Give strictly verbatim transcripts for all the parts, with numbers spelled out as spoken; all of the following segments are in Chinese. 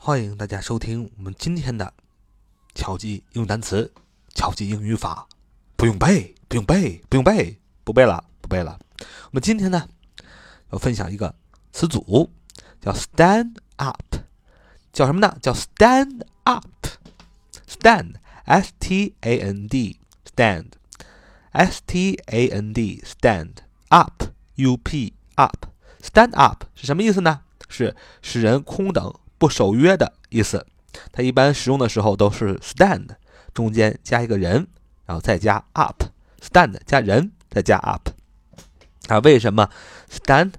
欢迎大家收听我们今天的巧记英语单词、巧记英语法，不用背，不用背，不用背，不背了，不背了。我们今天呢要分享一个词组，叫 stand up， 叫什么呢？叫 stand up。stand S T A N D stand S T A N D stand up U P up stand up 是什么意思呢？是使人空等不守约的意思。它一般使用的时候都是 stand 中间加一个人，然后再加 up stand 加人再加 up。 啊，为什么 stand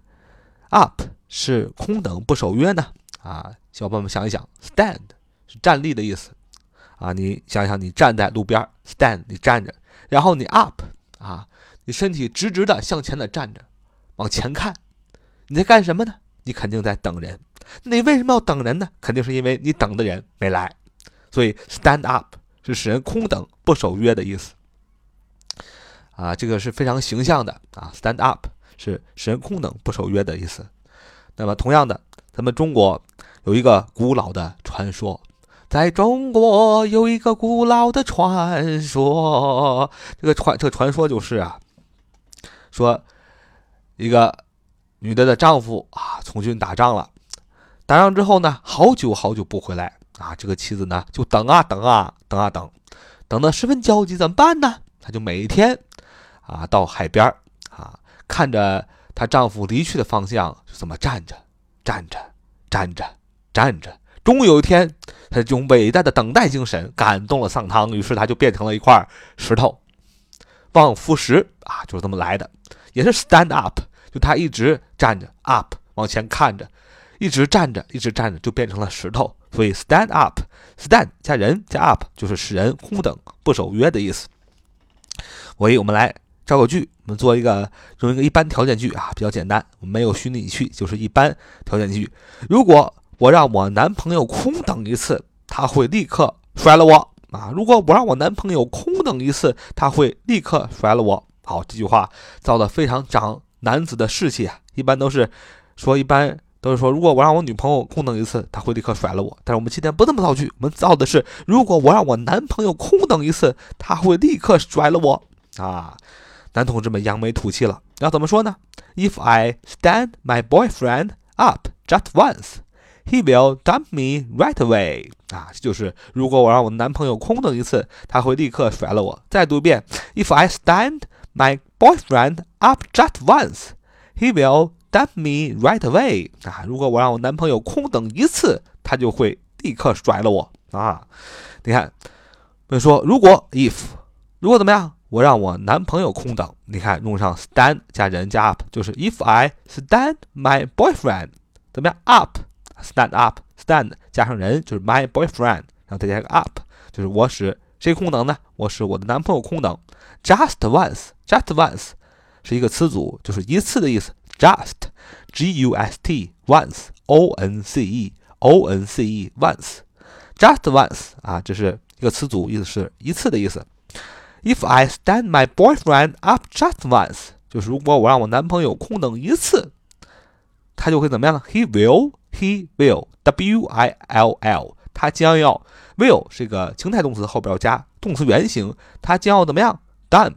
up 是空等不守约呢？啊，小伙伴们想一想， stand 是站立的意思啊，你想一想，你站在路边 stand 你站着，然后你 up 啊，你身体直直的向前的站着，往前看，你在干什么呢？你肯定在等人。你为什么要等人呢？肯定是因为你等的人没来。所以 stand up 是使人空等不守约的意思啊，这个是非常形象的啊。stand up 是使人空等不守约的意思。那么同样的，咱们中国有一个古老的传说，在中国有一个古老的传说，这个传这个传说就是啊，说一个女的的丈夫啊从军打仗了，打仗之后呢，好久好久不回来啊，这个妻子呢就等啊等啊等啊等，等得十分焦急，怎么办呢？她就每天啊到海边啊，看着她丈夫离去的方向，就这么站着站着站着站着。终于有一天，她这种伟大的等待精神感动了上苍，于是她就变成了一块石头，望夫石啊，就是这么来的，也是 stand up， 就她一直站着 up 往前看着，一直站着一直站着就变成了石头。所以 stand up stand 加人加 up 就是使人空等不守约的意思。所以我们来造个句，我们做一个用一个一般条件句啊，比较简单，我们没有虚拟语气，就是一般条件句。如果我让我男朋友空等一次，他会立刻甩了我啊！如果我让我男朋友空等一次，他会立刻甩了我。好，这句话造的非常长男子的士气啊，一般都是说一般都是说，如果我让我女朋友空等一次，她会立刻甩了我。但是我们今天不这么造句，我们造的是，如果我让我男朋友空等一次，他会立刻甩了我啊！男同志们扬眉吐气了，要怎么说呢？ If I stand my boyfriend up just once, he will dump me right away 啊，就是如果我让我男朋友空等一次，他会立刻甩了我。再读一遍 If I stand my boyfriend up just once, he will dump me right away 啊，如果我让我男朋友空等一次，他就会立刻甩了我啊。你看，我们说如果 if 如果怎么样，我让我男朋友空等，你看用上 stand 加人加 up， 就是 if I stand my boyfriend 怎么样 up stand up stand 加上人就是 my boyfriend， 然后再加个 up， 就是我使谁空等呢？我使我的男朋友空等。 just once just once 是一个词组，就是一次的意思。just G U S T once O N C E O N C E once just once 啊，这是一个词组，意思是一次的意思。If I stand my boyfriend up just once 就是如果我让我男朋友空等一次，他就会怎么样呢？ He will He will W I L L 他将要 will 是一个情态动词，后边要加动词原形，他将要怎么样 dump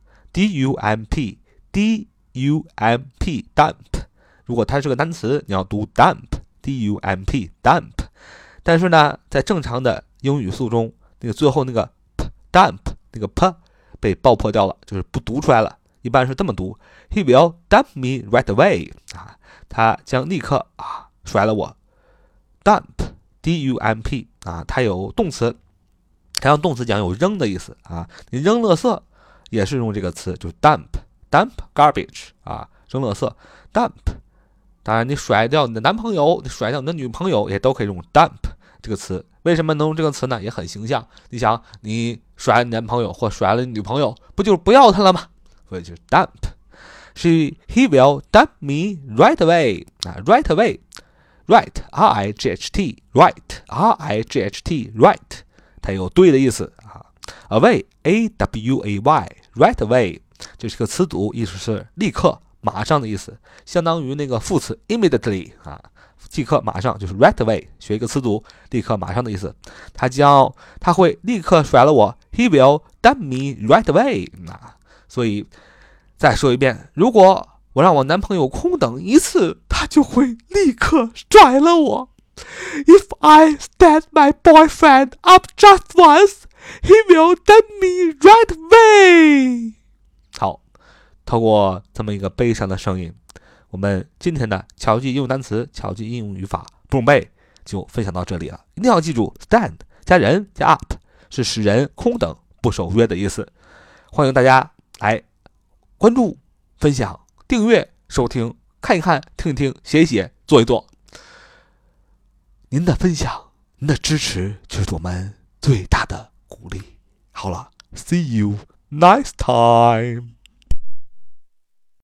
D U M P D U M P dump 如果它是个单词，你要读 dump D U M P dump， 但是呢在正常的英语速中，那个最后那个 p dump 那个 p 被爆破掉了，就是不读出来了，一般是这么读 He will dump me right away 啊，他将立刻啊甩了我。 dump D U M P 啊，它有动词，它用动词讲有扔的意思啊，你扔垃圾也是用这个词，就是 dump dump garbage 啊，扔垃圾 dump。 当然你甩掉你的男朋友，你甩掉你的女朋友也都可以用 dump 这个词。为什么能用这个词呢？也很形象，你想你甩了你男朋友或甩了你女朋友，不就是不要他了吗？所以就是 dump。 She He will dump me right away 啊 right away right R I G H T right R I G H T right 它有对的意思啊。 away A W A Y right away 这是个词组，意思是立刻马上的意思，相当于那个副词 immediately 啊，即刻马上就是 right away， 学一个词组，立刻马上的意思。他将他会立刻甩了我 ，He will dump me right away。啊，所以再说一遍，如果我让我男朋友空等一次，他就会立刻甩了我。If I stand my boyfriend up just once, he will dump me right away。好，透过这么一个悲伤的声音，我们今天的巧记应用单词、巧记应用语法不用背就分享到这里了。一定要记住 ，stand 加人加 up 是使人空等不守约的意思。欢迎大家来关注、分享、订阅、收听、看一看、听一听、写一写、做一做。您的分享、您的支持就是我们最大的鼓励。好了 ，See you next time。